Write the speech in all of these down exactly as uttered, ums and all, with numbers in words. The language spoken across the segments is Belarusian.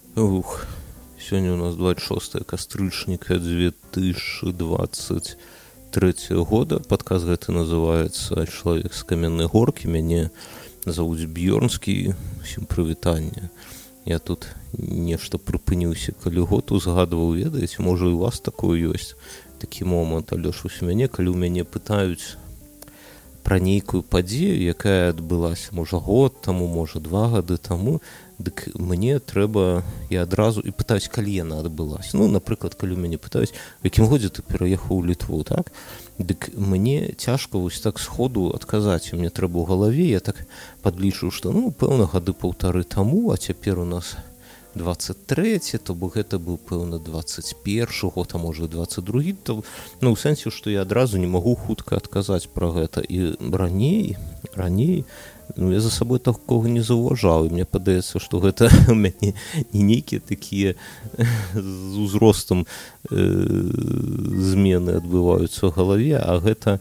Ух, сегодня у нас двадцать шестое кастрычніка две тысячи двадцать третьего года. Подкаст гэты называется «Человек с каменной горки». Мяне зовут Бьёрнскі. Всем прывітанне. Я тут нешта прыпыніўся, калі год узгадваў, ведаеце, можа і у вас такое ёсць, такі момант, але ж у мяне, калі ў мяне пытаюць пра нейкую падзею, якая адбылася, можа год таму, можа два гады таму, дык мне трэба, я адразу і пытаюсь, калі яна адбылася. Ну, напрыклад, калі ў мяне пытаюць, у якім годзе ты пераехаў у Літву, так? Дык мне цяжка вось так сходу адказаць, мне трэба ў галаве, я так падлічыў, што, ну, пэўна, гады паўтары таму, а цяпер у нас двадцать трэці, то бок гэта быў, пэўна, двадцать першы год, а можа, двадцать другі, то, ну, у сэнсе, што я адразу не магу хутка адказаць пра гэта. І раней, раней, ну, я за сабой такога не заўважаў, і мне падаецца, што гэта у мяне не нейкія такія з узростам э, змены адбываюцца ў галаве, а гэта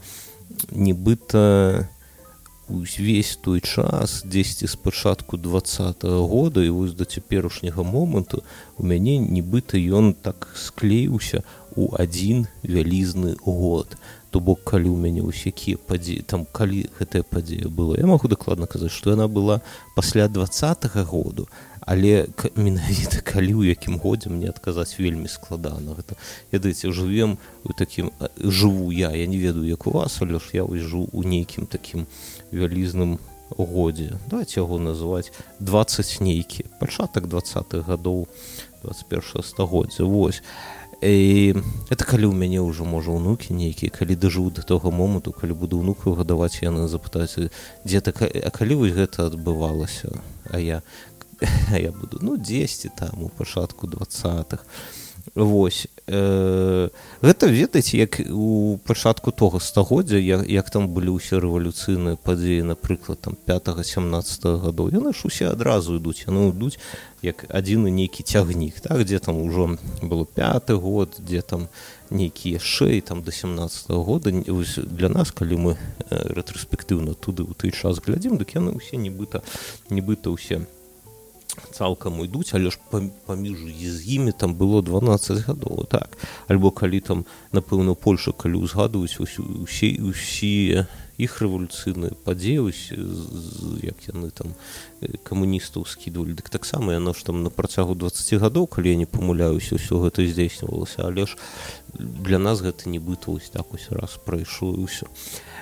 нібыта увесь той час, дзесьці з пачатку двадцатага года і вось да цяперашняга моманту у мяне нібыта ён так склеіўся у адзін вялізны год. То бок, калі ў мяне ўсе якія падзеі, там, калі гэтая падзея была, я магу дакладна казаць, што яна была пасля двадцатага году, але менавіта калі ў якім годзе мне адказаць вельмі складана. Гэта, ведаеце, жывем у такім, жыву я, я не ведаю, як у вас, але ж я вось жыву у нейкім такім вялізным годзе. Давайте яго называць двадцать нейкі, пачатак двадцатых гадоў двадцать першага стагоддзя. Вось. І это калі ў мяне ўжо, можа, ўнукі нейкія, калі дажыву да того моманту, калі буду ўнукаў гадаваць, яны запытаюцца, дзе так, а калі вось гэта адбывалася? А я, а я буду, ну, дзесьці там у пачатку двадцатых. Вось. Э, гэта, ведаеце, як у пачатку того стагоддзя, як, як там былі ўсе рэвалюцыйныя падзеі, напрыклад, там пятага-сямнаццатага гадоў, яны ж усе адразу ідуць, яны ідуць як адзіны нейкі цягнік, так, дзе там ужо было пяты год, дзе там нейкі яшчэ, і там да сямнаццатага года. Вось для нас, калі мы рэтраспектыўна туды ў той час глядзім, дык яны ўсе нібыта, нібыта ўсе цалкам ідуць, але ж паміж з імі там было дванаццаць гадоў, так. Альбо калі там, напэўна, Польша, калі ўзгадваюць усе, усе іх рэвалюцыйныя падзеі, як яны там камуністаў скідвалі, дык таксама яно ж там на працягу дваццаці гадоў, калі я не памыляюся, ўсё гэта здзейснівалася, але ж для нас гэта нібыта вось так вось раз прайшло і ўсё.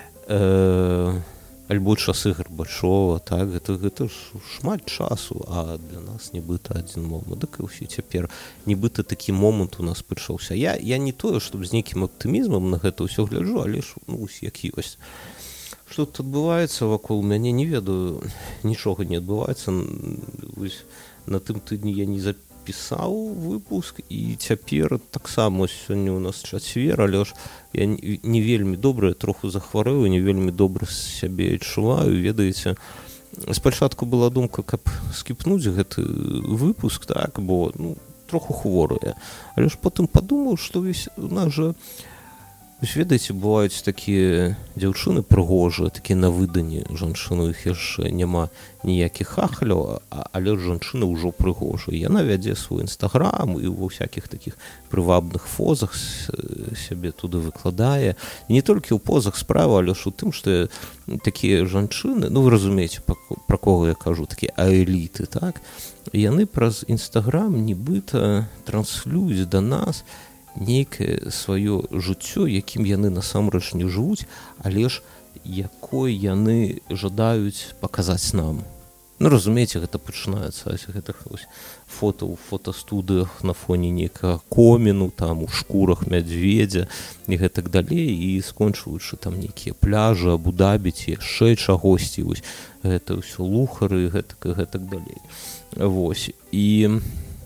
Э, альбо часы Гарбачова, так, гэта, гэта ж шмат часу, а для нас нібыта адзін момант. Дык і ўсё цяпер нібыта такі момант у нас пачаўся. Я, я не тое, щоб з нейкім аптымізмам на гэта ўсё гляджу, але ж, ну, як ёсць. Што тут адбываецца вакол мяне, не ведаю, нічога не адбываецца. Вось на тым тыдні я не запісаў выпуск, і цяпер таксама сёння у нас чацвер, але ж я не вельмі добра, троху захварэў, не вельмі добра сябе адчуваю, ведаеце. Спачатку была думка, каб скіпнуць гэты выпуск, так, бо, ну, троху хворая. Але ж потым падумаў, што вось у нас жа, вось, ведаеце, бываюць такія дзяўчыны прыгожыя, такія на выданні жанчыны, іх яшчэ няма ніякіх ахляў, але жанчына ўжо прыгожая. Яна вядзе свой інстаграм і ва ўсякіх такіх прывабных фозах сябе туды выкладае. І не толькі ў позах справа, але ж у тым, што такія жанчыны, ну, вы разумееце, пра кого я кажу, такія аэліты, так? Яны праз інстаграм нібыта транслююць да нас нейкае сваё жыццё, якім яны насамрэч не жывуць, але ж якой яны жадаюць паказаць нам. Ну, разумееце, гэта пачынаецца з гэтых фота ў фотастудыях на фоне нейкага коміну, там у шкурах мядзведзя і гэтак далей, і скончваючы там нейкія пляжы, Абу-Дабі ці яшчэ чагосьці, вось гэта ўсё лухары, гэтак і гэтак далей. Вось. І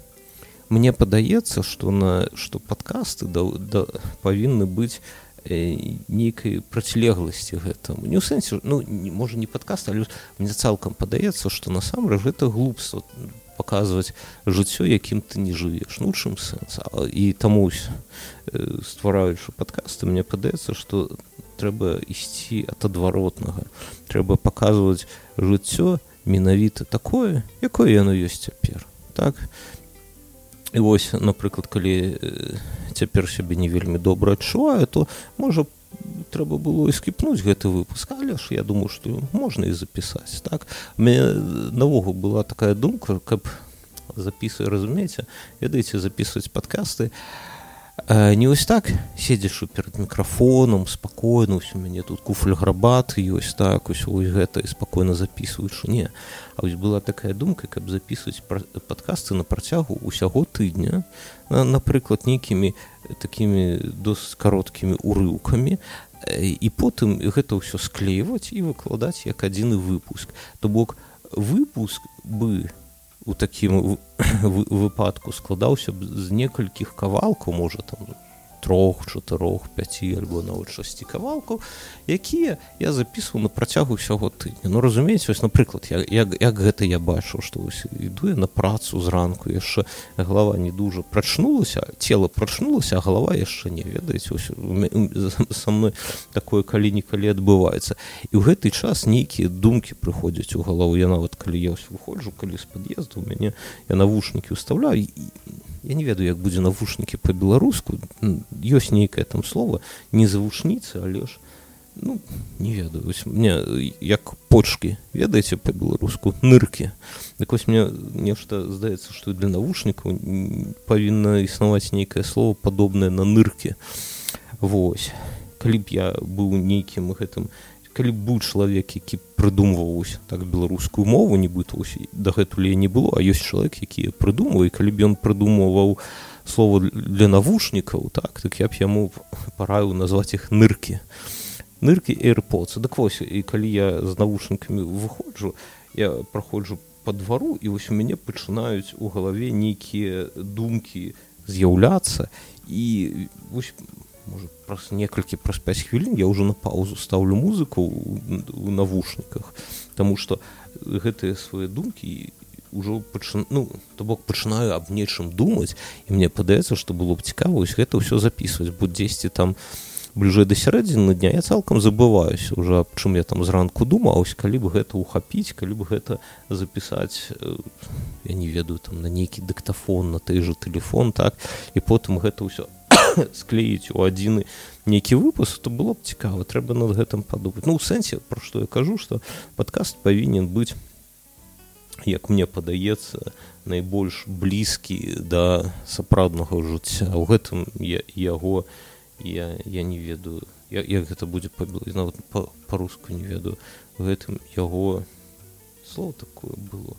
мне падаецца, што на што падкасты да, да, павінны быць э, нейкай процілегласці гэтаму. Не ў сэнсе, ну, не, можа, не падкаст, але мне цалкам падаецца, што насамрэч гэта глупства паказваць жыццё, якім ты не жывеш. Ну, чым сэнс? І таму, э, ствараючы падкасты, мне падаецца, што трэба ісці ад адваротнага. Трэба паказваць жыццё менавіта такое, якое яно ёсць цяпер. Так? І вось, напрыклад, калі цяпер сябе не вельмі добра адчуваю, то можа трэба было і скіпнуць гэты выпуск, але ж я думаю, што можна і запісаць, так? У мяне навогул была такая думка, каб запісваць, разумееце, ведаеце, запісваць падкасты не вось так, седзячы перад мікрафонам, спакойна, вось у мяне тут куфль гарбаты ёсць, так, вось вось гэта, і спакойна запісваючы, не. А вось была такая думка, каб запісваць падкасты на працягу ўсяго тыдня, напрыклад, нейкімі такімі досыць кароткімі урыўкамі, і потым гэта ўсё склейваць і выкладаць як адзіны выпуск. То бок выпуск бы у такім выпадку складаўся б з некалькіх кавалкаў, можа там трох, чатырох, пяці альбо нават шасці кавалкаў, якія я запісваў на працягу ўсяго тыдня. Ну, разумееце, вось, напрыклад, як, як, як гэта я бачыў, што вось іду я на працу зранку, яшчэ галава не дужа прачнулася, цела прачнулася, а галава яшчэ не, ведаеце, вось са мной такое калі-нікалі адбываецца. І ў гэты час нейкія думкі прыходзяць у галаву. Я нават, калі я ось выходжу, калі з пад'езду, у мяне я навушнікі ўстаўляю, і я не ведаю, як будзе навушнікі па-беларуску, ёсць нейкае там слова, не завушніцы, але ж, ну, не ведаю, вось мне, як почкі, ведаеце па-беларуску, ныркі. Так вось мне нешта здаецца, што для навушнікаў павінна існаваць нейкае слово падобнае на ныркі. Вось. Калі б я быў нейкім гэтым, калі б быў чалавек, які прыдумваў так беларускую мову, нібыта дагэтуль не было, а ёсць чалавек, які прыдумваў, і калі б ён прыдумваў слова для навушнікаў, так, так я б яму параіў назваць іх ныркі. Ныркі AirPods. Так вось, і калі я з навушнікамі выходжу, я праходжу па двару, і вось у мяне пачынаюць у галаве нейкія думкі з'яўляцца, і вось можа, праз некалькі, праз пяць хвілін я ўжо на паузу стаўлю музыку ў навушніках, таму што гэтыя свае думкі ўжо пачынаю, ну, то бок пачынаю аб нечым думаць, і мне падаецца, што было б цікава вось гэта ўсё запісваць, бо дзесьці там бліжэй да сярэдзіны дня я цалкам забываюся ўжо, аб чым я там зранку думаў, ось калі б гэта ухапіць, калі б гэта запісаць, я не ведаю, там на нейкі дыктафон, на той жа тэлефон, так, і потым гэта ўсё склеіць у адзіны нейкі выпуск, то было б цікава, трэба над гэтым падумаць. Ну, у сэнсе, пра што я кажу, што падкаст павінен быць, як мне падаецца, найбольш блізкі да сапраўднага жыцця. У гэтым я, яго, я, я не ведаю, як, як гэта будзе па-беларуску, нават па-руску не ведаю. У гэтым яго слово такое было.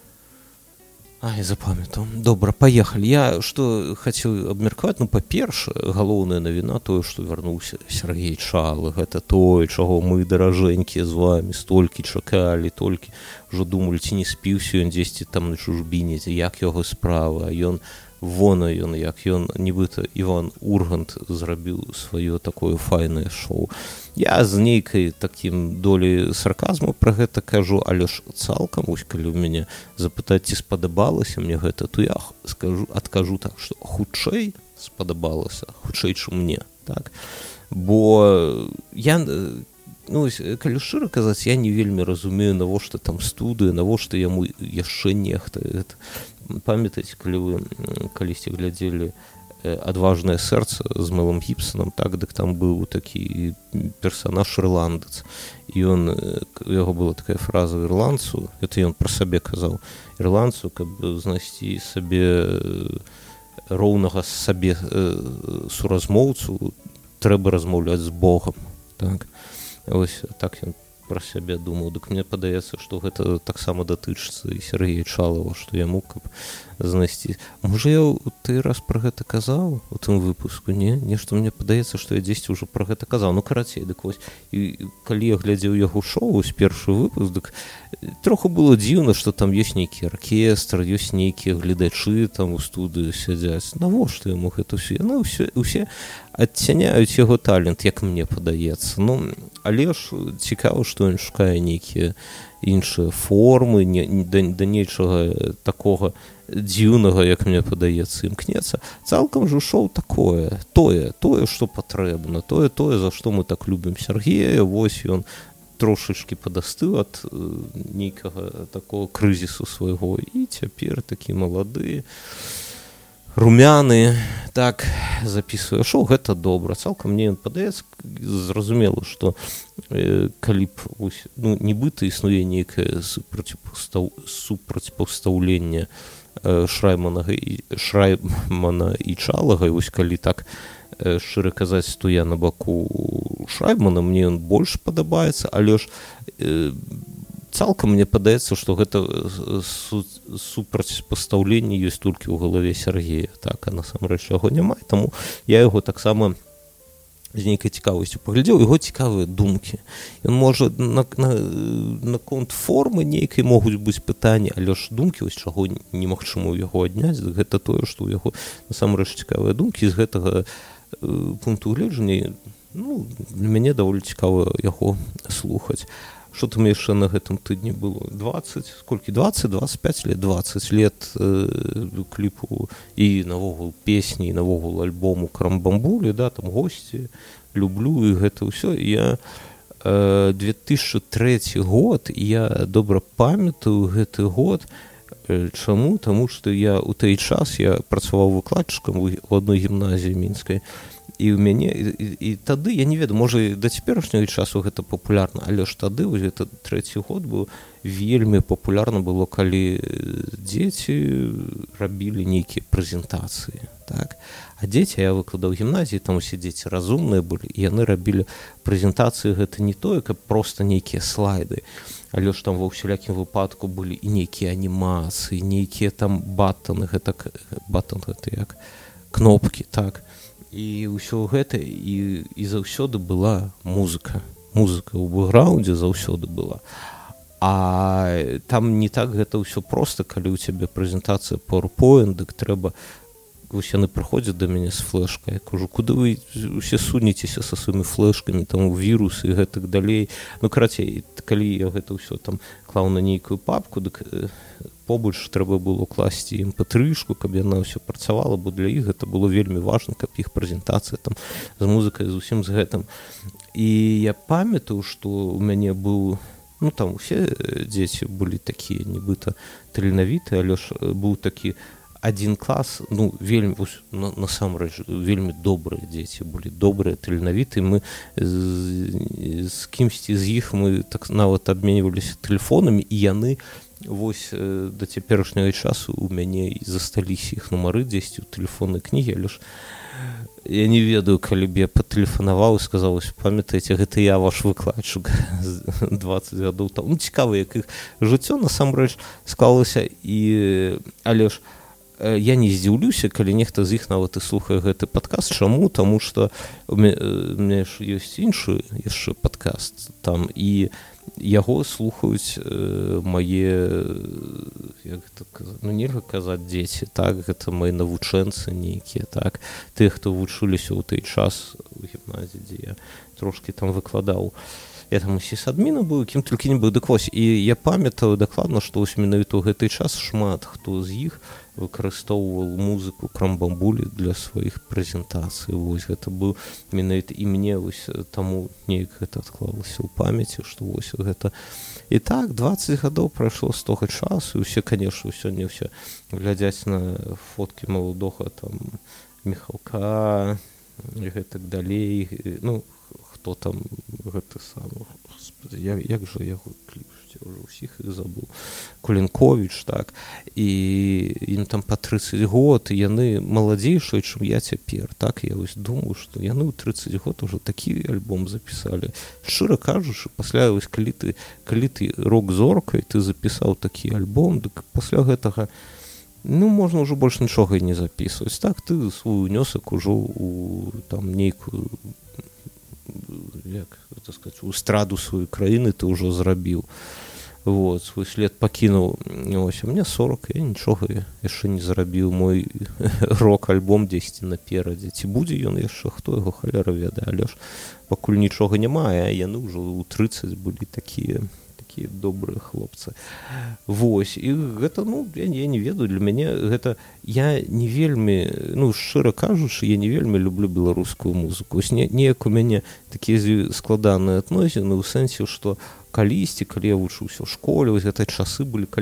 Ай, запамятаў. Добра, паехалі. Я што хацеў абмеркаваць, ну, па-перша, галоўная навіна тое, што вярнуўся Сергей Чалы. Гэта тое, чаго мы, даражэнькія, з вамі столькі чакалі, толькі ўжо думалі, ці не спіўся ён дзесьці там на чужбіне, як яго справа, а ён вона ён, як ён, нібыта Іван Ургант зрабіў сваё такое файнае шоу. Я з нейкай такім долей сарказму пра гэта кажу, але ж цалкам, вось калі ў мяне запытаць, ці спадабалася мне гэта, то я скажу, адкажу так, што хутчэй спадабалася, хутчэй, чым мне, так? Бо я, ну, калі шчыра казаць, я не вельмі разумею, навошта там студыя, навошта яму яшчэ нехта. Памятаеце, калі вы калісьці глядзелі «Адважнае сэрца» з Мэлом Гібсонам, так, дык там быў такі персанаж ірландец, і ён, у яго была такая фраза ірландцу, гэта ён пра сабе казаў, ірландцу, каб знайсці сабе роўнага сабе суразмоўцу, трэба размаўляць з Богам, так, ось так ён пра сябе думаў. Дык мне падаецца, што гэта таксама датычыцца і Сергея Чалава, што яму каб знайсці. Можа, я ў той раз пра гэта казаў у тым выпуску, не? Нешта мне падаецца, што я дзесьці ўжо пра гэта казаў. Ну, карацей, дык вось, і калі я глядзеў яго шоу з першы выпуск, дык троху было дзіўна, што там ёсць нейкі аркестр, ёсць нейкія гледачы там у студыі сядзяць. Навошта яму гэта ўсё? Яны ўсе, ўсе адцяняюць яго талент, як мне падаецца. Ну, але ж цікава, што ён шукае нейкія іншыя формы, не, да, да нечага такога дзіўнага, як мне падаецца, імкнецца. Цалкам жа шоу такое, тое, тое, што патрэбна, тое, тое, за што мы так любім Сергея, вось ён трошачкі падастыў ад э, нейкага такого крызісу свайго, і цяпер такі малады. румяны, так записываю шоу, гэта добра. Цалкам мне падаецца зразумела, што э, калі б ось, ну, нібыта існуе нейкае супрацьпастаў... супрацьпастаўленне э, Шраймана і Шраймана і Чалага, і вось калі так э, шчыра казаць, то я на баку Шраймана, мне ён больш падабаецца, але ж э, цалкам мне падаецца, што гэта су супрацьпастаўленне ёсць толькі ў галаве Сергея, так, а насамрэч яго няма, таму я яго таксама з нейкай цікавасцю паглядзеў, яго цікавыя думкі. Ён можа на, на, наконт формы нейкай могуць быць пытанні, але ж думкі, ось чаго немагчыма ў яго адняць, гэта тое, што ў яго насамрэч цікавыя думкі, з гэтага э, пункту гледжання, ну, для мяне даволі цікава яго слухаць. Што там яшчэ на гэтым тыдні было? дваццаць, сколькі? дваццаць дваццаць пяць лет, дваццаць лет э, кліпу і навогул песні, і навогул альбому Крамбамбулі, да, там госці, люблю, і гэта ўсё. Я э, две тысячы трэці год, я добра памятаю гэты год. Э, чаму? Таму што я ў той час я працаваў выкладчыкам у адной гімназіі мінскай, і ў мяне і, і, і тады я не ведаю, можа да цяперашняга часу гэта папулярна, але ж тады вось гэта трэці год быў вельмі папулярна было, калі дзеці рабілі нейкія прэзентацыі, так, а дзеці, я выкладаў гімназіі, там усе дзеці разумныя былі, і яны рабілі прэзентацыі, гэта не тое, каб проста нейкія слайды, але ж там ва ўсялякім выпадку былі і нейкія анімацыі, нейкія там баттаны, гэта баттан гэта як кнопкі, так. І ўсё гэта, і, і заўсёды была музыка. Музыка ў бэкграўндзе заўсёды была. А там не так гэта ўсё проста, калі ў цябе прэзентацыя PowerPoint, дык трэба, вось яны прыходзяць да мяне з флэшкай, я кажу, куды вы усе сунецеся са сваімі флэшкамі, там вірусы і гэтак далей. Ну, карацей, калі я гэта ўсё там клаў на нейкую папку, дык побач трэба было класці эм пэ тры-шку, каб яна ўсё працавала, бо для іх гэта было вельмі важна, каб іх прэзентацыя там з музыкай, з усім з гэтым. І я памятаю, што ў мяне быў, ну там усе дзеці былі такія нібыта таленавітыя, але ж быў такі адзін клас, ну вельмі, на, насамрэч вельмі добрыя дзеці былі, добрыя, таленавітыя. Мы з, з кімсьці з іх мы так нават абменьваліся тэлефонамі, і яны вось э, да цяперашняга часу у мяне і засталіся іх нумары дзесьці ў тэлефоннай кнігі, але ж я не ведаю, калі б я патэлефанаваў і сказаў, памятаеце, гэта я ваш выкладчык дваццаць гадоў там. Ну, цікава, як іх жыццё насамрэч склалася, і але ж э, я не здзіўлюся, калі нехта з іх нават і слухае гэты падкаст. Чаму? Таму што у мяне ж ёсць іншы яшчэ падкаст там, і яго слухаюць э, мае, як гэта казаць, ну нельга казаць дзеці, так, гэта мае навучэнцы нейкія, так, тыя, хто вучыліся ў той час у гімназіі, дзе я трошкі там выкладаў. Я там усе з адміна быў, кім толькі не быў, дык вось, і я памятаю дакладна, што вось менавіта ў гэты час шмат хто з іх выкарыстоўваў музыку Крамбамбулі для сваіх прэзентацый. Вось гэта быў менавіта, і мне вось таму неяк гэта адклалася ў памяці, што вось гэта. І так дваццаць гадоў прайшло з тога часу, і ўсе, канешне, сёння ўсе глядзяць на фоткі маладога там Міхалка і гэтак далей, ну хто там гэты самы, господи, як, як жа яго кліп, я ўжо ўсіх іх забыў, Кулінковіч, так, і ім там па трыццаць год, і яны маладзейшыя, чым я цяпер, так, я вось думаю, што яны ў трыццаць год ужо такі альбом запісалі. Шчыра кажучы, пасля вось калі ты, калі ты рок-зоркай, ты запісаў такі альбом, дык пасля гэтага, ну, можна ўжо больш нічога і не запісваць, так, ты свой унёсак ужо у там нейкую, як гэта сказаць, у эстраду сваёй краіны ты ўжо зрабіў. Вот, свой след пакінуў. Ось, а мне сорок, я нічога яшчэ не зрабіў. Мой рок-альбом дзесьці наперадзе. Ці будзе ён яшчэ, хто яго халера ведае, але ж пакуль нічога няма, а яны ўжо ў трыццаць былі такія, такія добрыя хлопцы. Вось, і гэта, ну, я, я не ведаю, для мяне гэта, я не вельмі, ну, шчыра кажучы, я не вельмі люблю беларускую музыку. Ось не, неяк у мяне такія складаныя адносіны ў сэнсе, што калісьці, калі я вучыўся ў школе, вось гэта часы былі, калі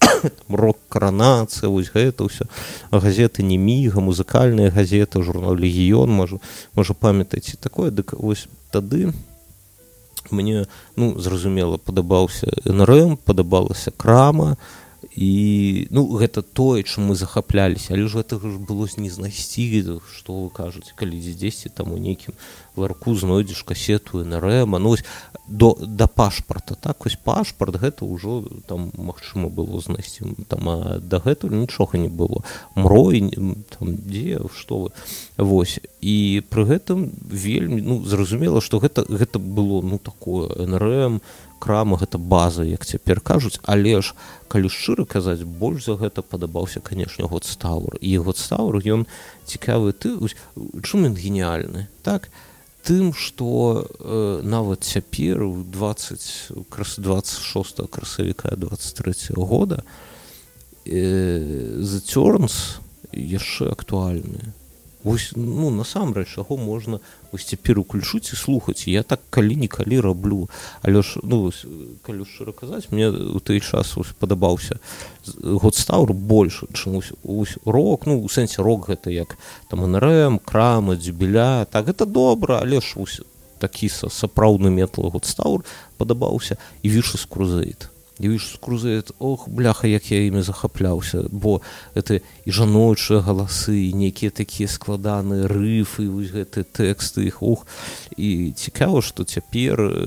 рок-каранацыя, вось гэта ўсё. Газеты «Неміга», музыкальныя газеты, журнал «Легіён», можа, можа памятаеце такое, дык вось тады мне, ну, зразумела, падабаўся эн эр эм, падабалася крама, і, ну, гэта тое, чым мы захапляліся, але ж гэтага ж было не знайсці, што вы кажаце, калі дзесьці там у нейкім ларку знойдзеш касету эн эр эм, ну, вось до, да пашпарта, так, вось пашпарт, гэта ўжо там магчыма было знайсці, там, а дагэтуль нічога не было, мрой, там, дзе, што вы, вось, і пры гэтым вельмі, ну, зразумела, што гэта, гэта было, ну, такое, эн эр эм, крама, гэта база, як цяпер кажуць, але ж, калі шчыра казаць, больш за гэта падабаўся, канешне, Годстауэр. І Годстауэр, ён цікавы, ты, чым ён геніальны, так? Тым, што э, нават цяпер, у двадцать шостага красавіка двадцать трэцяга года, э, The Turns яшчэ актуальныя. Вось, ну, насамрэч, яго можна вось цяпер уключыць і слухаць. Я так калі-нікалі раблю. Але ж, ну, вось, калі шчыра казаць, мне ў той час вось падабаўся Годстауэр больш, чым вось, вось рок, ну, у сэнсе рок гэта як там эн эр эм, крама, дзюбіля, так, гэта добра, але ж вось такі сапраўдны метал Годстауэр падабаўся і Vicious Crusade. І Vicious Crusade, ох, бляха, як я імі захапляўся, бо гэта і жаночыя галасы, і нейкія такія складаныя рыфы, і вось гэтыя тэксты іх, ох, і цікава, што цяпер э,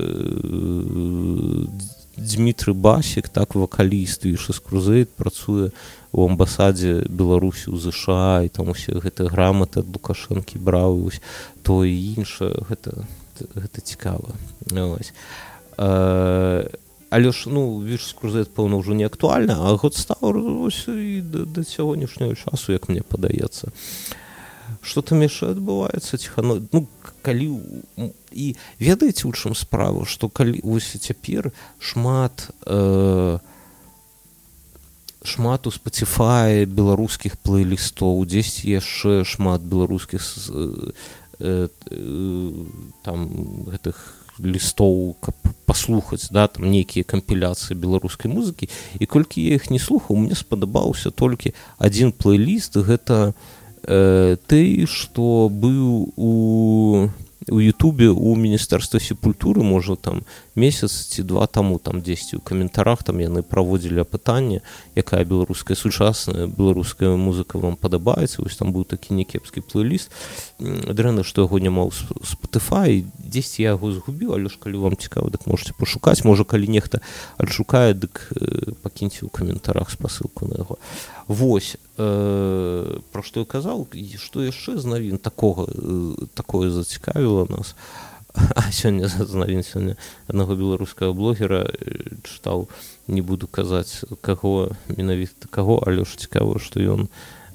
Дмітрый Басік, так, вакаліст Vicious Crusade, працуе у амбасадзе Беларусі ў ЗША, і там усе гэтыя граматы ад Лукашэнкі браў, і вось тое і іншае, гэта, гэта цікава. Ось. Э, Але ж, ну, Vicious Crusade, пэўна, ўжо не актуальна, а Годстауэр ось і да, да сягонняшняго часу, як мне падаецца. Што там яшчэ адбываецца ціхано... Ну, калі... І ведаеце, у чым справа, што калі ось цяпер шмат... Э, шмат у Spotify беларускіх плейлістоў, дзесьці яшчэ шмат беларускіх э, э, там гэтых лістоў, каб паслухаць, да, там нейкія кампіляцыі беларускай музыкі, і колькі я іх не слухаў, мне спадабаўся толькі адзін плейліст, гэта э, той, што быў у у Ютубе у Міністэрства сепультуры, можа, там месяц ці два таму, там дзесьці ў каментарах там яны праводзілі апытанне, якая беларуская сучасная беларуская музыка вам падабаецца, вось там быў такі някепскі плейліст, дрэнна, што яго няма ў Spotify, дзесьці я яго згубіў, але ж калі вам цікава, дык можете пашукаць, можа, калі нехта адшукае, дык э, пакіньце ў каментарах спасылку на яго. Вось, э, пра што я казаў, што яшчэ з навін такога, э, такое зацікавіла нас. А сёння з навін сёння аднаго беларускага блогера чытаў, не буду казаць каго, менавіта каго, але ж цікава, што ён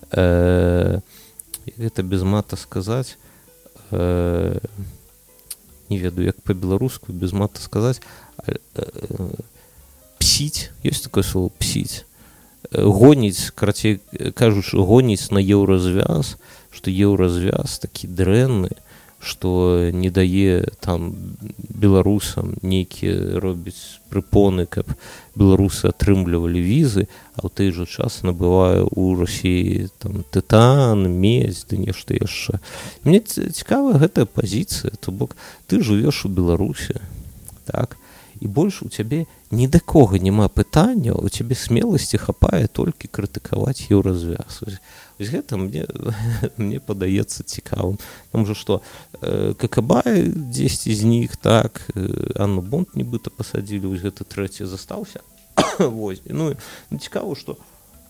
э, гэта без мата сказаць, э, не ведаю, як па-беларуску без мата сказаць, э, э, псіць, ёсць такое слово псіць. Гоніць, карацей кажучы, гоніць на еўразвяз, што еўразвяз такі дрэнны, што не дае там беларусам нейкія робіць прыпоны, каб беларусы атрымлівалі візы, а ў той жа час набывае ў Расіі там тытан, медзь, ды нешта яшчэ. Мне цікавая гэтая пазіцыя, то бок ты жывеш у Беларусі, так, і больш у цябе ні да кога няма пытання, у цябе смеласці хапае толькі крытыкаваць еўразвяз. Вось гэта мне, мне падаецца цікавым. Там жа што, э, Какабай дзесьці з них, так, э, Анну Бонд нібыта пасадзілі, вось гэты трэці застаўся. Вось. Ну, цікава, што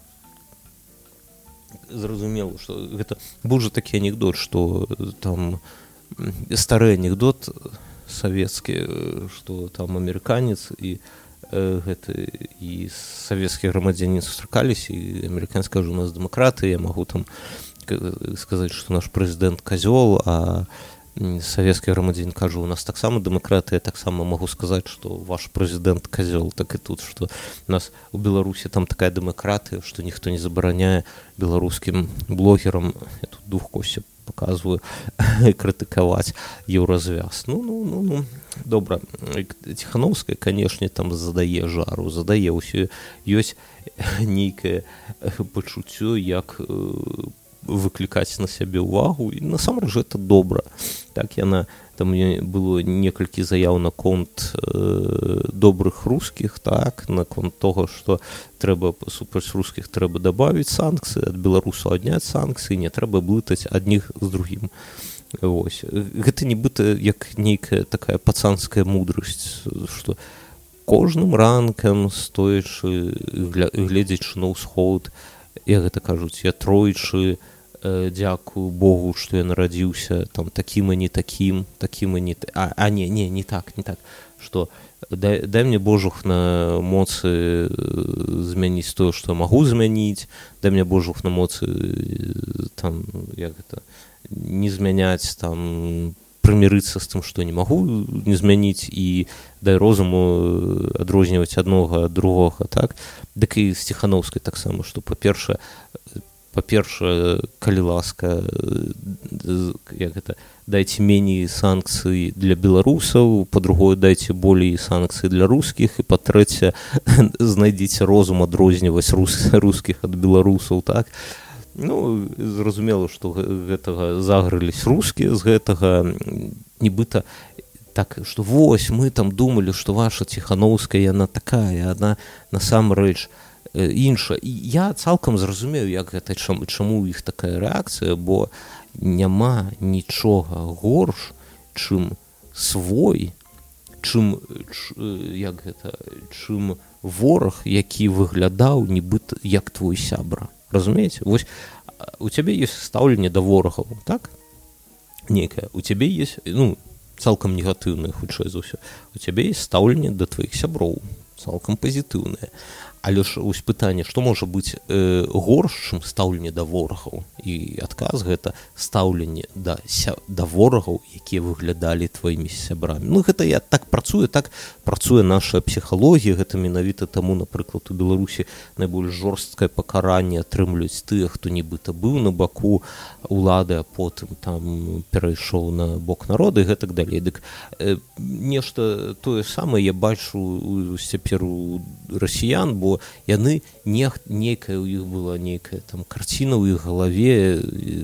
зразумела, што гэта быў жа такі анекдот, што там стары анекдот савецкі, што там амерыканец і э, гэты і савецкі грамадзянін сустракаліся, і амерыканец кажа, у нас дэмакраты, я магу там сказаць, што наш прэзідэнт казёл, а савецкі грамадзянін кажа, у нас таксама дэмакраты, я таксама магу сказаць, што ваш прэзідэнт казёл, так і тут, што у нас у Беларусі там такая дэмакратыя, што ніхто не забараняе беларускім блогерам, я тут двух косця паказваю крытыкаваць еўразвяз. Ну ну ну ну добра, Ціханаўская, канешне, там задае жару, задае ўсё, ёсць нейкае пачуццё, як выклікаць на сябе ўвагу, і насамрэч гэта добра. Так яна, там было некалькі заяў наконт э, добрых рускіх, так, наконт того, што трэба супраць рускіх трэба дабавіць санкцыі, ад беларусаў адняць санкцыі, не трэба блытаць адних з другім. Вось. Гэта нібыта як нейкая такая пацанская мудрасць, што кожным ранкам, стоячы, гледзячы на ўсход, я гэта кажуць, я тройчы э, дзякую Богу, што я нарадзіўся там такім і не такім, такім і не а, а не, не, не так, не так, што дай, дай мне Божух на моцы змяніць тое, што я магу змяніць, дай мне Божух на моцы там, як гэта, не змяняць, там, прымірыцца з тым, што не магу не змяніць, і дай розуму адрозніваць аднога ад другога, так? Дык і з Ціханаўскай таксама, што па-першае, па-першае, калі ласка, як гэта, дайце меней санкцый для беларусаў, па-другое, дайце болей санкцый для рускіх, і па-трэцяе, знайдзіце розум адрозніваць рус, рускіх ад беларусаў, так? Ну, зразумела, што гэтага загрылись рускія з гэтага, нібыта так, што вось, мы там думалі, што ваша Ціханаўская, яна такая, яна насамрэч іншая. І я цалкам зразумею, як гэта, чаму, чаму ў іх такая рэакцыя, бо няма нічога горш, чым свой, чым, як гэта, чым вораг, які выглядаў нібыта як твой сябра. Разумееце? Вось у цябе ёсць стаўленне да ворагаў, так? Некае. У цябе ёсць, ну, цалкам негатыўнае, хутчэй за ўсё. У цябе ёсць стаўленне да тваіх сяброў, цалкам пазітыўнае. Але ж вось пытанне, што можа быць э, горш, чым стаўленне да ворагаў? І адказ гэта стаўленне да, ся, да ворагаў, якія выглядалі тваімі сябрамі. Ну, гэта я так працуе, так працуе наша псіхалогія, гэта менавіта таму, напрыклад, у Беларусі найбольш жорсткае пакаранне атрымліваюць тыя, хто нібыта быў на баку улады, а потым там перайшоў на бок народа і гэтак далей. Дык э, нешта тое самае я бачу цяпер у расіян, бо яны не, нейкая у іх была нейкая там карціна ў іх галаве,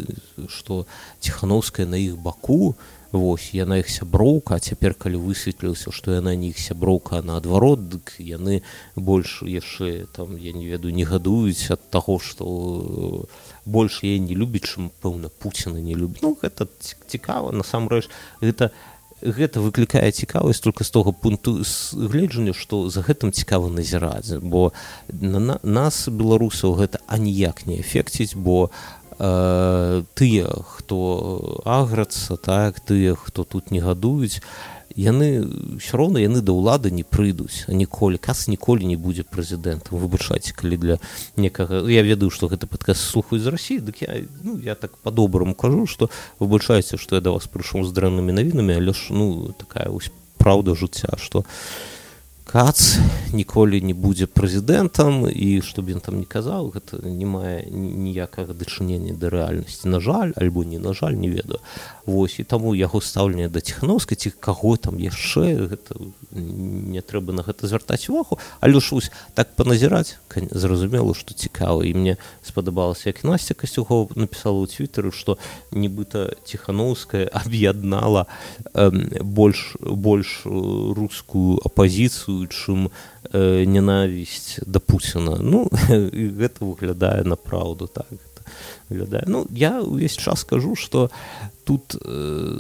што Ціханаўская на іх баку, вось, яна іх сяброўка, а цяпер, калі высветлілася, што яна не іх сяброўка, а наадварот, дык яны больш яшчэ там, я не ведаю, не гадуюць ад таго, што больш яе не любіць, чым, пэўна, Пуціна не любіць. Ну, гэта цікава, насамрэч, гэта гэта выклікае цікавасць толькі з того пункту гледжання, што за гэтым цікава назіраць, бо на, на нас, беларусаў, гэта аніяк не эфекціць, бо э, тыя, хто аграцца, так, тыя, хто тут не гадуюць, яны ўсё роўна яны да ўлады не прыйдуць, а ніколі, Кас ніколі не будзе прэзідэнтам. Выбачайце, калі для некага, я ведаю, што гэты падкаст слухаюць з Расіі, дык я, ну, я так па-добраму кажу, што выбачайце, што я да вас прыйшоў з дрэннымі навінамі, але ж, ну, такая вось праўда жыцця, што Кац ніколі не будзе прэзідэнтам, і што б ён там не казаў, гэта не мае ніякага дачынення да рэальнасці. На жаль, альбо не на жаль, не ведаю. Вось, і таму яго стаўленне да Ціханаўскай, ці каго там яшчэ, гэта не трэба на гэта звяртаць увагу, але ж вось так паназіраць, зразумела, што цікава. І мне спадабалася, як Насця Касцюкова напісала ў Твітары, што нібыта Ціханаўская аб'яднала э, больш, больш рускую апазіцыю, чым э, ненавісць да Пуціна. Ну, і гэта выглядае на праўду, так. Выглядае. Ну, я ўвесь час кажу, што тут э,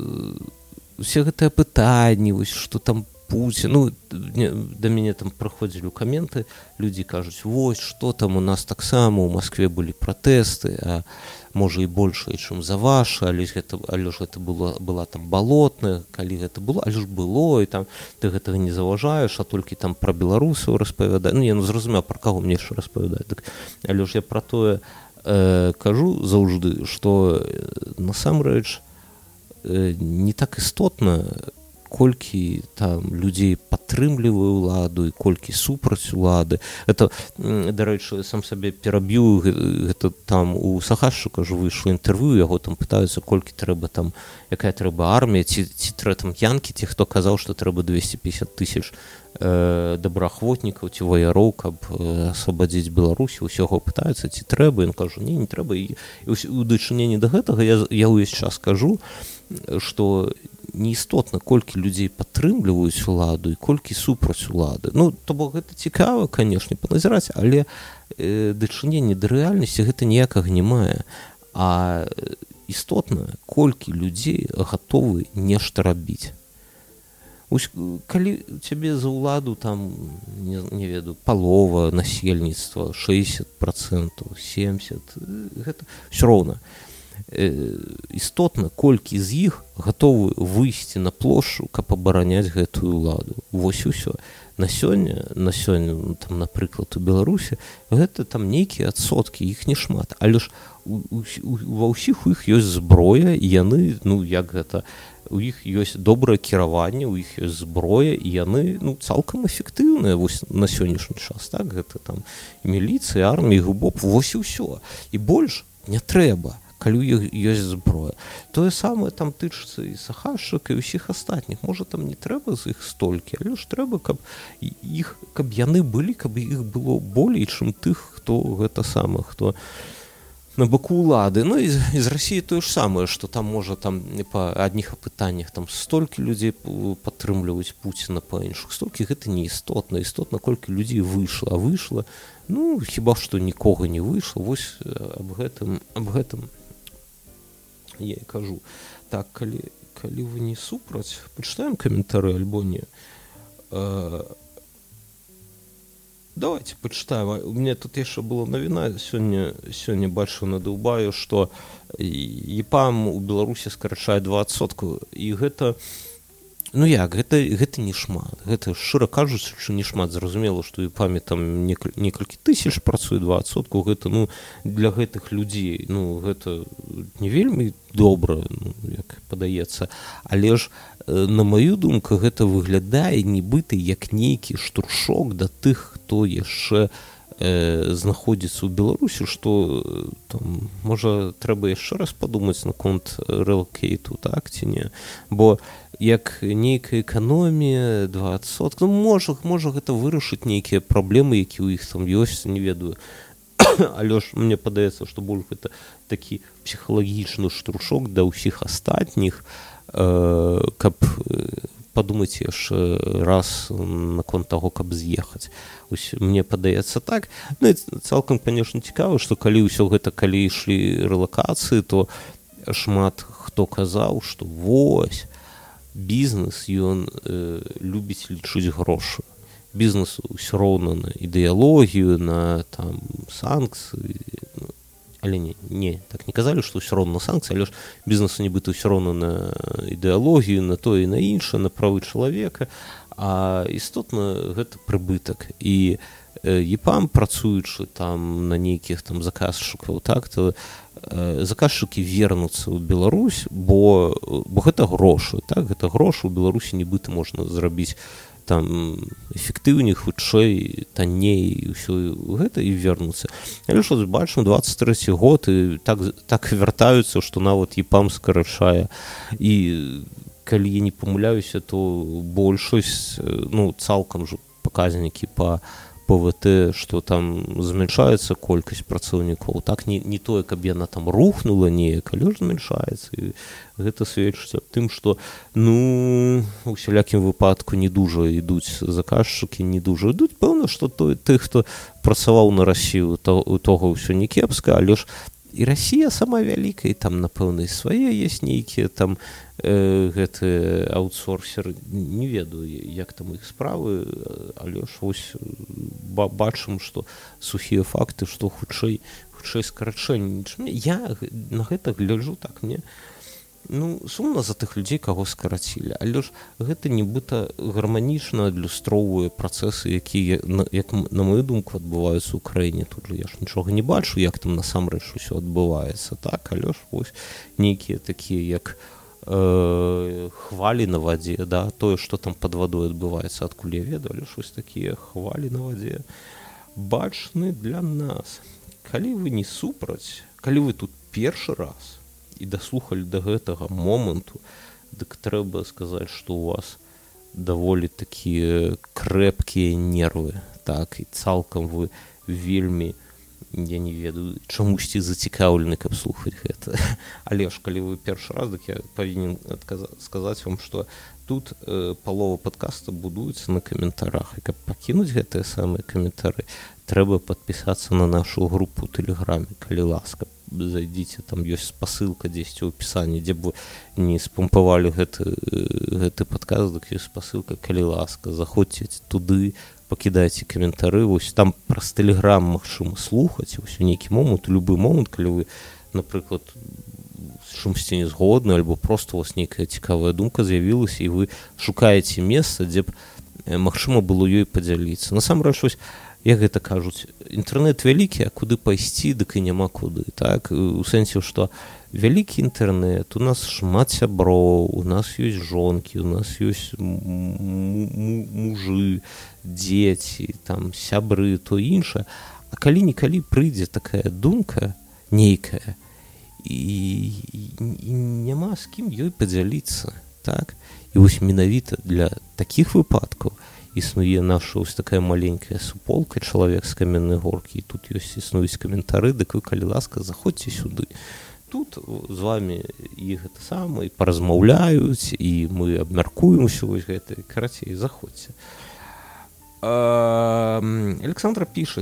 усе гэтыя пытанні, вось, што там Пуцін, ну, не, да мяне там праходзілі каменты, людзі кажуць, вось, што там у нас таксама, у Маскве былі пратэсты, а можа і большая, чым за ваша, але ж гэта, але ж гэта было, была там балотная, калі гэта было, але ж было, і там ты гэтага не заўважаеш, а толькі там пра беларусаў распавядае. Ну, я ну, зразумеў, пра каго мне яшчэ распавядае. Так, але ж я пра тое э, кажу заўжды, што насамрэч э, не так істотна, колькі там людзей падтрымлівае ўладу і колькі супраць улады. Это, дарэчы, сам сабе пераб'ю, гэта там у Сагайшчыка ж выйшло інтэрв'ю, яго там пытаюцца, колькі трэба там, якая трэба армія, ці, ці трэба там янкі, ці хто казаў, што трэба двести пятьдесят тысяч э, добраахвотнікаў ці ваяроў, каб э, асвабадзіць Беларусь, усяго пытаюцца, ці трэба, ён кажу, не, не трэба. І, і у дачыненні да гэтага я, я ўвесь час кажу, што неістотна, колькі людзей падтрымліваюць уладу і колькі супраць улады. Ну, то бок гэта цікава, канешне, паназіраць, але э, дачыненне да рэальнасці гэта ніякага не мае. А істотна, колькі людзей гатовы нешта рабіць. Ось, калі у цябе за ўладу там, не, не ведаю, палова насельніцтва, шэсцьдзесят процентаў, семьдесят процентов, гэта ўсё роўна. Істотна, колькі з іх гатовы выйсці на плошчу, каб абараняць гэтую ўладу. Вось і ўсё. На сёння, на сёння, там, напрыклад, у Беларусі, гэта там нейкія адсоткі, іх не шмат. Але ж у, у, ва ўсіх у іх ёсць зброя, і яны, ну, як гэта, у іх ёсць добрае кіраванне, у іх ёсць зброя, і яны, ну, цалкам эфектыўныя вось на сённяшні час, так? Гэта там міліцыя, армія, губоп, вось і ўсё. І больш не трэба, калі ў іх ёсць зброя. Тое самае там тычыцца і Сагайшчыка, і ўсіх астатніх. Можа, там не трэба з іх столькі, але ж трэба, каб іх, каб яны былі, каб іх было болей, чым тых, хто гэта самае, хто на баку ўлады. Ну і, і з Расіі тое ж самае, што там можа там па адних апытаннях там столькі людзей падтрымліваюць Пуціна, па іншых столькі, гэта не істотна. Істотна, колькі людзей выйшла, а выйшла, ну, хіба што нікога не выйшла. Вось аб гэтым, аб гэтым я і кажу. Так, калі, калі вы не супраць, пачытаем каментары альбо не. Э, давайте пачытаем. У мяне тут яшчэ была навіна, сёння, сёння бачу на Дубаю, што ЕПАМ у Беларусі скарачае два адсоткі, і гэта, ну як, гэта, гэта не шмат. Гэта, шчыра кажучы, што не шмат. Зразумела, што у ЕПАМе там некаль, некалькі тысяч працуе, два адсоткі, гэта, ну, для гэтых людзей, ну, гэта не вельмі добра, ну, як падаецца, але ж, на маю думку, гэта выглядае нібыта як нейкі штуршок да тых, хто яшчэ э, знаходзіцца ў Беларусі, што там, можа, трэба яшчэ раз падумаць наконт рэлокейту, так, ці не? Бо як нейкая эканомія, два адсоткі, ну, можа, можа гэта вырашыць нейкія праблемы, якія ў іх там ёсць, не ведаю. Але ж мне падаецца, што больш гэта такі псіхалагічны штуршок да ўсіх астатніх, э, каб падумаць яшчэ раз наконт таго, каб з'ехаць. Ось мне падаецца так. Ну і цалкам, канешне, цікава, што калі ўсё гэта, калі ішлі рэлакацыі, то шмат хто казаў, што вось, бізнес, ён э, любіць лічыць грошы. Бізнесу ўсё роўна на ідэалогію, на там санкцыі, але не, не, так не казалі, што ўсё роўна на санкцыі, але ж бізнесу нібыта ўсё роўна на ідэалогію, на то і на іншае, на правы чалавека, а істотна гэта прыбытак. І э, ЕПАМ, працуючы там на нейкіх там заказчыкаў, так, то э, заказчыкі вернуцца ў Беларусь, бо, бо гэта грошы, так, гэта грошы ў Беларусі нібыта можна зрабіць там эфектыўней, хутчэй, танней, ўсё гэта і вернуцца. Але ж бачым, двадцать трэці год, і так, так вяртаюцца, што нават ЕПАМ скарачае. І калі я не памыляюся, то большасць, ну, цалкам ж паказнікі па ПВТ, што там змяншаецца колькасць працаўнікоў. Так, не, не тое, каб яна там рухнула неяк, але ж змяншаецца. І гэта сведчыць аб тым, што, ну, у усялякім выпадку не дужа ідуць заказчыкі, не дужа ідуць. Пэўна, што той, тых, хто працаваў на Расію, то, у того ўсё не кепска, але ж і Расія сама вялікая, і там, напэўна, і свае ёсць нейкія там э, гэты аутсорсеры, не ведаю, як там іх справы, але ж вось бачым, што сухія факты, што хутчэй, хутчэй скарачэнне. Я на гэта гляджу так, мне, ну, сумна за тых людзей, каго скарацілі, але ж гэта нібыта гарманічна адлюстроўвае працэсы, якія, як на мою думку, адбываюцца ў краіне. Тут же я ж нічога не бачу, як там насамрэч усё адбываецца, так, але ж вось нейкія такія, як э, хвалі на вадзе, да, тое, што там пад вадой адбываецца, адкуль я ведаю, але щось такія хвалі на вадзе бачны для нас. Калі вы не супраць, калі вы тут першы раз і даслухалі да гэтага моманту, дык трэба сказаць, што ў вас даволі такія крэпкія нервы, так, і цалкам вы вельмі, я не ведаю, чамусьці зацікаўлены, каб слухаць гэта. Але ж, калі вы першы раз, дык я павінен сказаць вам, што тут э, палова падкаста будуецца на каментарах, і каб пакінуць гэтыя самыя каментары, трэба падпісацца на нашу групу ў Тэлеграме, калі ласка. Зайдзіце, там ёсць спасылка дзесьці ў апісанні, дзе б вы не спампавалі гэты, гэты падкаст, дык ёсць спасылка, калі ласка, заходзьце туды, пакідайце каментары, вось там праз Тэлеграм магчыма слухаць, вось у нейкі момант, у любы момант, калі вы, напрыклад, з чымсьці не згодны, альбо проста у вас нейкая цікавая думка з'явілася, і вы шукаеце месца, дзе б магчыма было ёй падзяліцца. Насамрэч, вось, як гэта кажуць, інтэрнэт вялікі, а куды пайсці, дык і няма куды, так? У сэнсе, што вялікі інтэрнэт, у нас шмат сяброў, у нас ёсць жонкі, у нас ёсць мужы, дзеці, там, сябры, то іншае. А калі-нікалі прыйдзе такая думка нейкая, і, і няма з кім ёй падзяліцца, так? І вось менавіта для такіх выпадкаў існуе наша ось такая маленькая суполка, чалавек з каменнай горкі, і тут ёсць існуюць каментары, дык вы, калі ласка, заходзьце сюды. Тут з вамі і гэта самае, паразмаўляюць, і мы абмяркуем усё вось гэта, карацей, заходзьце. Александра піша,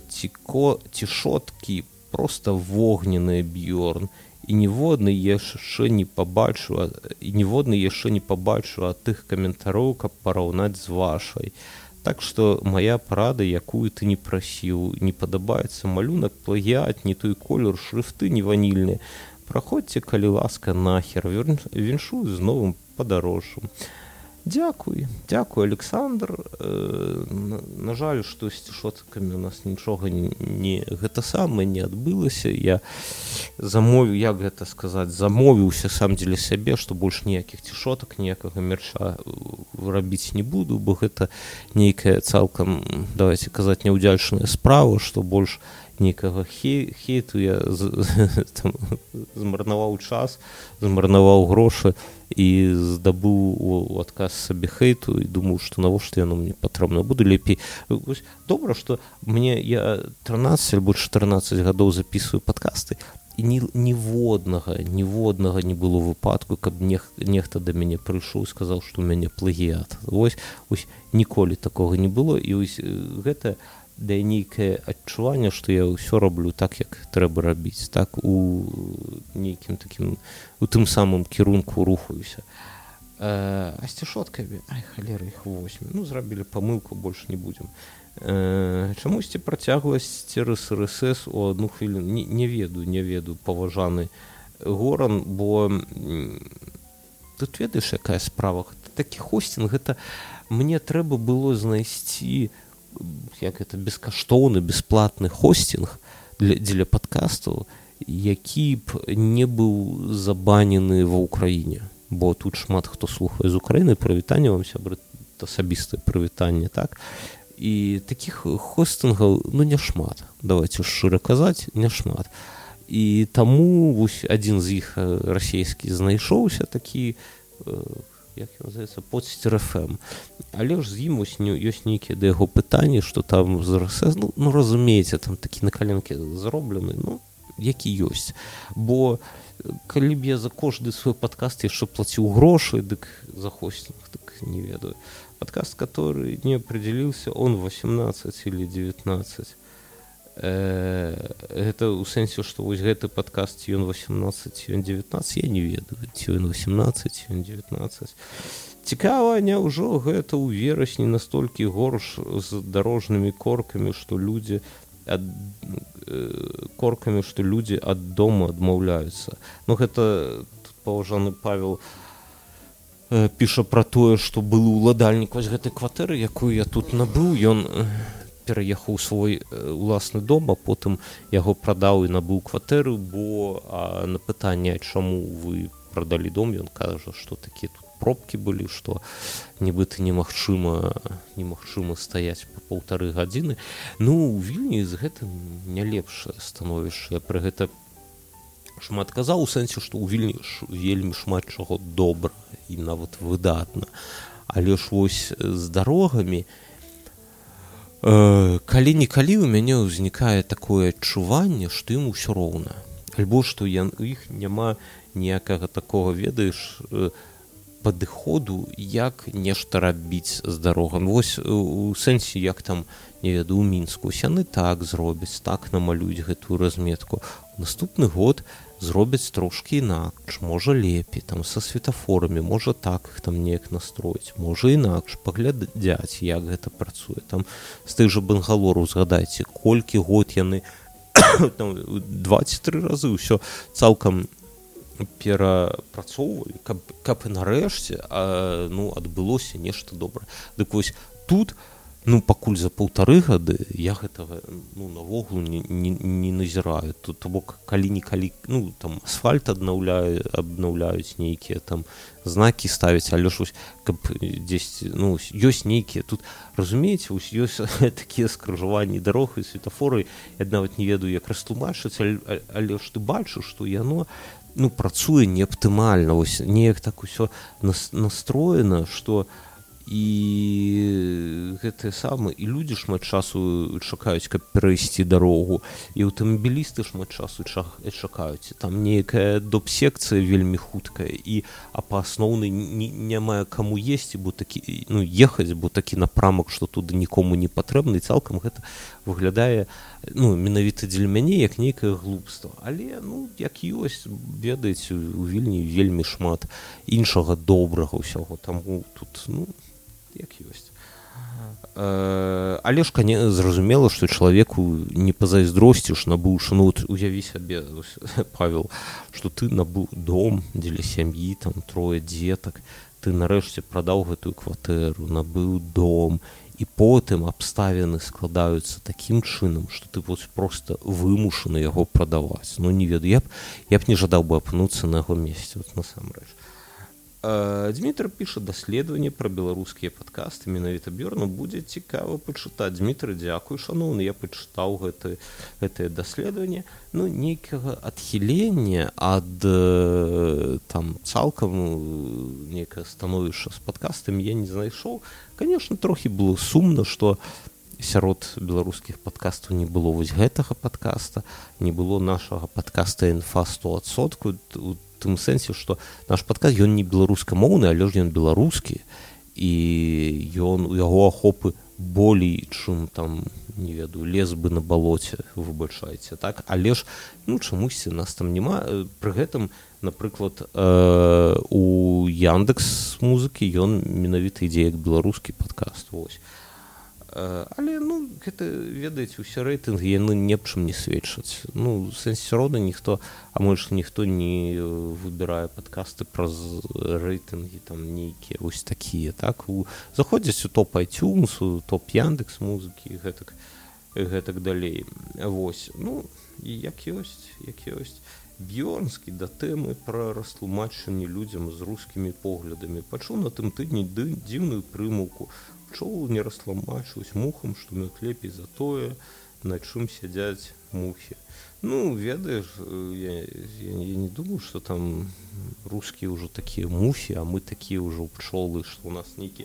цішоткі проста вогненыя, Бьорн, і ніводны яшчэ не пабачу, і ніводны яшчэ не пабачу ад тых каментароў, каб параўнаць з вашай. Так што мая парада, якую ты не прасіў, не падабаецца малюнак, плагіат, не той колер, шрыфты не ванільныя. Праходзьце, калі ласка, нахер, віншую з новым падарожжам. Дзякуй, дзякуй, Александр. Э, на, на жаль, што з цішоткамі у нас нічога не, не гэта самае не адбылася. Я замовіў, як гэта сказаць, замовіўся сам дзеля сябе, што больш ніякіх цішотак, ніякага мерча рабіць не буду, бо гэта нейкая цалкам, давайте казаць, няўдзячная справа, што больш нейкага хей, хейту я з, там, змарнаваў час, змарнаваў грошы і здабыў у адказ сабе хейту і думаю, што навошта яно мне патрэбна. Буду лепей. Добра, што мне я трынаццаць альбо чатырнаццаць гадоў записываю падкасты, і ні, ніводнага, ніводнага не было выпадку, каб нех, нехта да мяне прыйшоў і сказаў, што ў мяне плагіат. Вось, вось ніколі такога не было, і вось гэта да нейкае адчуванне, што я ўсё раблю так, як трэба рабіць, так, у нейкім такім, у тым самым кірунку рухаюся. Э, а з цішоткамі, ай, халера, іх восьмі, ну, зрабілі памылку, больш не будзем. Э, чамусьці працягласць цераз эр эс эс у адну хвіліну, не, не ведаю, не ведаю, паважаны Горан, бо тут ведаеш, якая справа, такі хостинг, гэта мне трэба было знайсці як это бескаштоўны, бесплатны хостинг для, для падкастаў, які б не быў забанены ва ўкраіне, бо тут шмат хто слухае з Украіны. Прывітанне вам, сябры, асабістае прывітанне, так? І такіх хостингаў, ну, няшмат, давайте шчыра казаць, няшмат. І таму вось адзін з іх расійскі знайшоўся такі, як ён называецца, Подстер эф эм. Але ж з ім ось ёсць нейкія да яго пытанні, што там з эр эс эс, ну, ну разумееце, там такі на каленкі зроблены, ну, які ёсць. Бо калі б я за кожны свой падкаст яшчэ плаціў грошы, дык за хостинг, дык не ведаю. Падкаст, который не определился, он восемнадцать или девятнадцать. Гэта ў сэнсе, што вось гэты падкаст, ён восемнадцать, ён девятнадцать, я не ведаю, ці ён восемнадцать, ён девятнадцать. Цікава, няўжо гэта ў верасні настолькі горш з дарожнымі коркамі, што людзі ад, коркамі, што людзі ад дома адмаўляюцца. Ну, гэта тут паважаны Павел э, піша пра тое, што былы ўладальнік вось гэтай кватэры, якую я тут набыў, ён пераехаў свой уласны дом, а потым яго прадаў і набыў кватэру, бо а, на пытанне, чаму вы прадалі дом, ён кажа, што такія тут пробкі былі, што нібыта немагчыма немагчыма стаяць па паўтары гадзіны. Ну, у Вільні з гэтым не лепшае становішча. Я пры гэта шмат казаў, у сэнсе, што ў Вільні вельмі шмат чаго добра і нават выдатна. Але ж вось з дарогамі, э, калі-нікалі ў мяне ўзнікае такое адчуванне, што ім усё роўна. Альбо што я, у іх няма ніякага такога, ведаеш, э, падыходу, як нешта рабіць з дарогам. Вось у сэнсе, як там, не ведаю, у Мінску. Яны так зробяць, так намалююць гэтую разметку. Наступны год зробяць трошкі інакш, можа лепей, там са светафорамі, можа так іх там неяк настроіць, можа інакш, паглядзяць, як гэта працуе. Там з тых жа бангалораў згадайце, колькі год яны там два ці тры разы ўсё цалкам перапрацоўвалі, каб, каб і нарэшце а, ну, адбылося нешта добрае. Дык вось тут, ну, пакуль за паўтары гады я гэтага, ну, навогул не, не, не назіраю. Тут, то бок, калі-нікалі, ну, там, асфальт аднаўляю, абнаўляюць нейкія там знакі ставяць, але ж вось, каб дзесь, ну, ёсць нейкія, тут, разумееце, вось ёсць такія скрыжаванні дарог і светафоры, я нават не ведаю, як растлумачыць, але, але ж ты бачыш, што яно, ну, працуе не аптымальна, вось неяк так усё настроена, што і гэтыя самыя, і людзі шмат часу чакаюць, каб перайсці дарогу, і аўтамабілісты шмат часу чакаюць. Там нейкая доп-секцыя вельмі хуткая, і а па асноўнай няма каму есці, бо такі, ну, ехаць, бо такі напрамак, што туды нікому не патрэбны, і цалкам гэта выглядае, ну, менавіта дзеля мяне, як нейкае глупства. Але, ну, як ёсць, ведаеце, у Вільні вельмі шмат іншага добрага ўсяго, таму тут, ну, як ёсць. Э, але ж, канешне, зразумела, што чалавеку не пазайздросціш, набыўшы, ну, вот уяві сабе, Павел, што ты набыў дом дзеля сям'і, там, трое дзетак, ты нарэшце прадаў гэтую кватэру, набыў дом, і потым абставіны складаюцца такім чынам, што ты вот проста вымушаны яго прадаваць. Ну, не ведаю, я б, я б не жадаў бы апынуцца на яго месцы, вот насамрэч. Дмітрий піша, даследаванне пра беларускія падкасты, менавіта Бёрну, будзе цікава пачытаць. Дмітрий, дзякуй, шаноўны, я пачытаў гэты, гэтае даследаванне. Ну, нейкага адхілення ад там цалкам нейкае становішча з падкастамі я не знайшоў. Конечно, трохі было сумна, што сярод беларускіх падкастаў не было вось гэтага падкаста, не было нашага падкаста «Інфа сто адсоткаў», у тым сэнсе, што наш падкаст, ён не беларускамоўны, але ж ён беларускі, і ён, у яго ахопы болей, чым там, не ведаю, лес бы на балоце, выбачайце, так? Але ж, ну, чамусьці нас там няма. Пры гэтым, напрыклад, э, у Яндекс.Музыкі ён менавіта ідзе як беларускі падкаст, вось. Але, ну, гэта, ведаеце, усе рэйтынгі, яны ні аб чым не сведчаць. Ну, в сэнсе рода ніхто, а можа, ніхто не выбірае падкасты праз рэйтынгі, там, нейкія, вось такія, так? У, заходзяць у топ iTunes, у топ Яндекс.Музыкі, і гэтак, і гэтак далей. Вось, ну, і як ёсць, як ёсць. Бьёрнскі да тэмы пра растлумачанне людзям з рускімі поглядамі. Пачуў на тым тыдні дзіўную прымаўку. Пчол не растлумачваюць мухам, што мы лепей за тое, на чым сядзяць мухі. Ну, ведаеш, я, я, я не думаю, што там рускія ўжо такія мухі, а мы такія ўжо пчолы, што ў нас нейкі...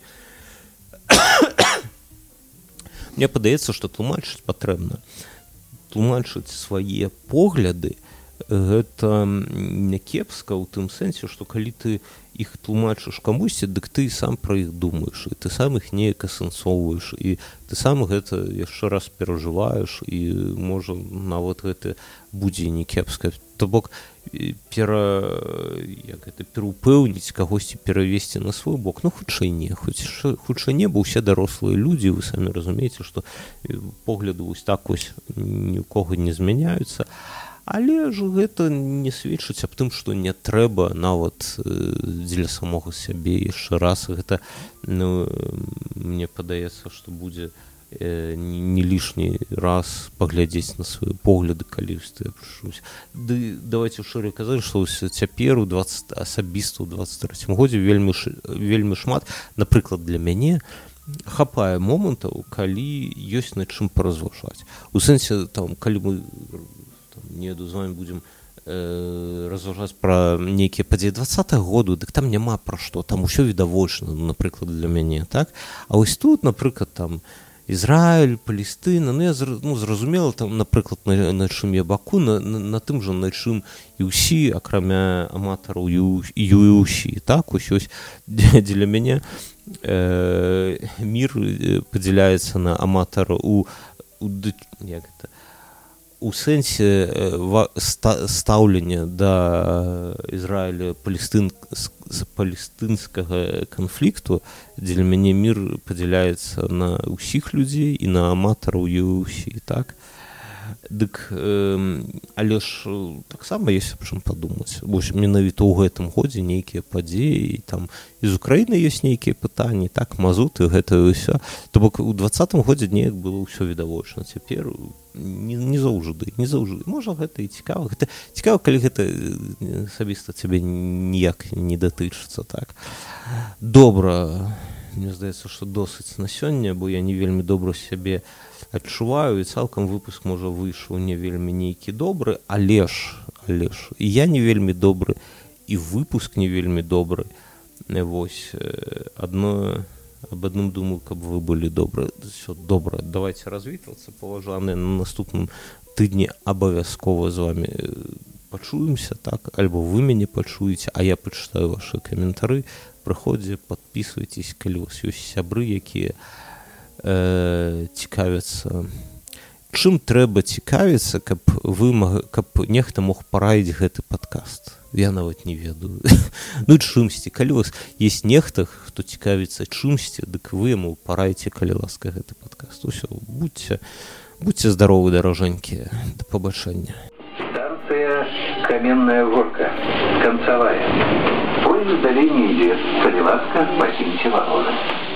Мне падаецца, што тлумачыць патрэбна. Тлумачыць свае погляды, гэта не кепска ў тым сэнсе, што калі ты іх тлумачыш камусьці, дык ты сам пра іх думаеш, і ты сам іх неяк асэнсоўваеш, і ты сам гэта яшчэ раз перажываеш, і можа нават гэта будзе не кепска. То бок пера, як гэта, пераўпэўніць кагосьці перавесці на свой бок, ну хутчэй не, хутчэй не, бо ўсе дарослыя людзі, вы самі разумееце, што погляды вось так вось ні ў кого не змяняюцца. Але ж гэта не сведчыць аб тым, што не трэба нават дзеля самога сябе яшчэ раз. Гэта, ну, мне падаецца, што будзе не лішні раз паглядзець на свае погляды, калі я прыйшусь. Ды давайте шчыра казаць, што цяпер у асабіста ў дваццаць трэцім годзе вельмі вельмі шмат, напрыклад, для мяне хапае момантаў, калі ёсць над чым паразважаць. У сэнсе, там, калі мы там, неду з вами будзем э, разважаць пра нейкія падзеі дваццатага году, дык там няма пра што, там усё відавочна, напрыклад, для мяне, так? А вось тут, напрыклад, там Ізраіль, Палестына, ну я ну, зразумела, там, напрыклад, на, на чым я баку, на, на, на тым жа, на чым і ўсі, акрамя аматараў ю і ўсі, так? Ось ось дзеля мяне э, мір падзяляецца на аматара у, у, як гэта, у сэнсе стаўлення да Ізраіля палестын, палестынскага канфлікту, дзеля мяне мір падзяляецца на ўсіх людзей і на аматараў і ўсі, так? Дык, э, але ж таксама ёсць аб чым падумаць. Вось менавіта ў гэтым годзе нейкія падзеі, там і з Украіны ёсць нейкія пытанні, так, мазуты, гэта ўсё. То бок у дваццатым годзе неяк было ўсё відавочна. Цяпер не, не заўжды, не заўжды. Можа, гэта і цікава. Гэта цікава, калі гэта асабіста цябе ніяк не датычыцца, так. Добра. Мне здаецца, што досыць на сёння, бо я не вельмі добра сябе адчуваю, і цалкам выпуск, можа, выйшаў не вельмі нейкі добры, але ж, але ж, і я не вельмі добры, і выпуск не вельмі добры. Вось, адно, аб адным думаю, каб вы былі добры. Всё, добра, давайте развітвацца, паважаныя, на наступным тыдні абавязкова з вами пачуемся, так, альбо вы мяне пачуеце, а я пачытаю вашы каментары. Прыходзьце, падпісвайцесь, калі у вас ёсць сябры, якія э, цікавяцца. Чым трэба цікавіцца, каб вы каб нехта мог параіць гэты падкаст? Я нават не ведаю. Ну, чымсьці, калі у вас ёсць нехта, хто цікавіцца чымсьці, дык вы яму параіце, калі ласка, гэты падкаст. Усё, будьце, будьце здаровы, дарожанькія. Да пабачэння. Станция Каменная Горка, концевая. Поезд в долине идет. Коли ласка, покиньте вагоны.